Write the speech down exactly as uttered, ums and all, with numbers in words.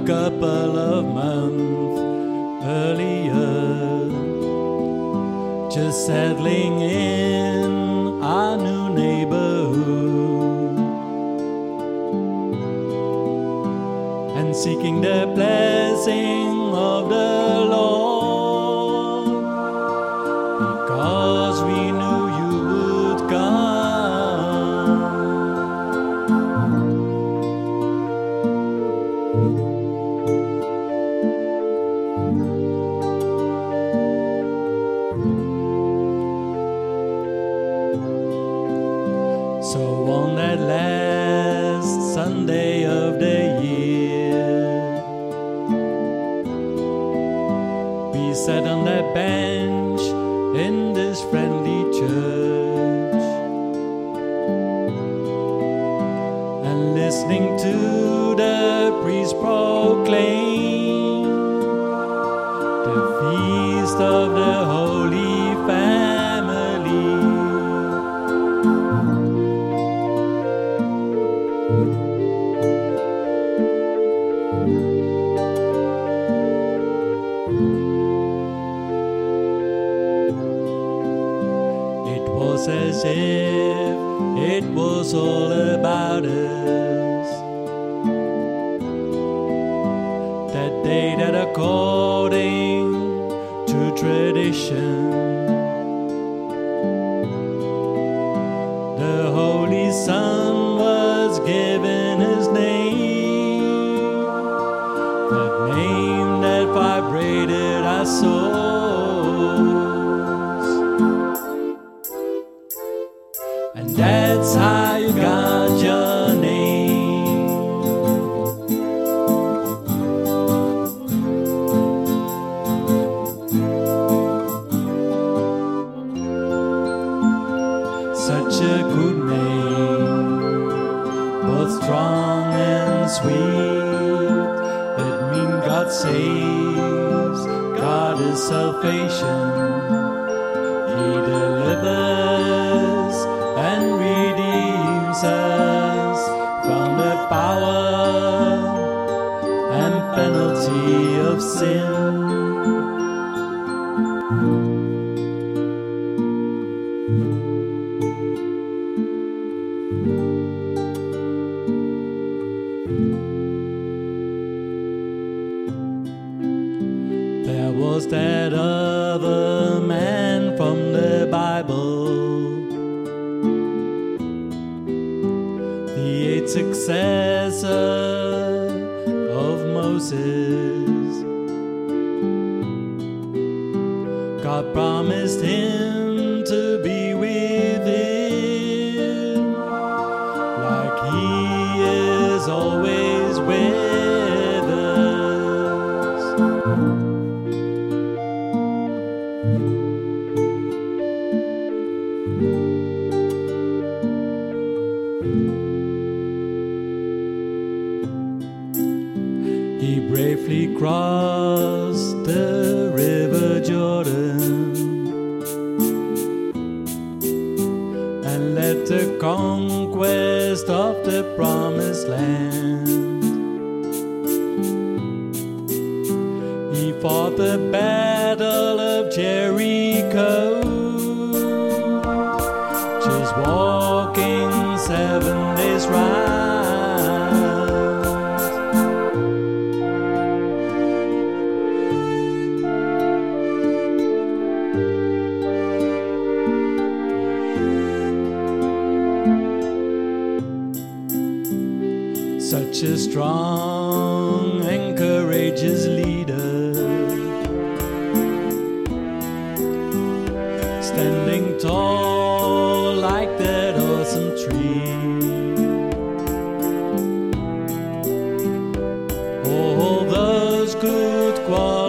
couple of months earlier, just settling in our new neighborhood and seeking the blessing of the Lord, because we knew you would come. So on that last Sunday of the year, we sat on that bench in this friendly church and listening to the priest proclaim the feast of the Holy Family. It was as if it was all about us, that day that according to tradition, the Holy Son was given his name, that name that vibrated our souls. And that's how you got your name. Such a good name, both strong and sweet. It means God saves, God is salvation. He delivers and redeems us from the power and penalty of sin. There was that other man from the Bible, the eighth successor of Moses. God promised him to be with him, like he is always with us. He bravely crossed the river Jordan and led the conquest of the promised land. He fought the battle of Jericho, just walking seven days round. Such a strong and courageous leader, standing tall like that awesome tree. All those good qualities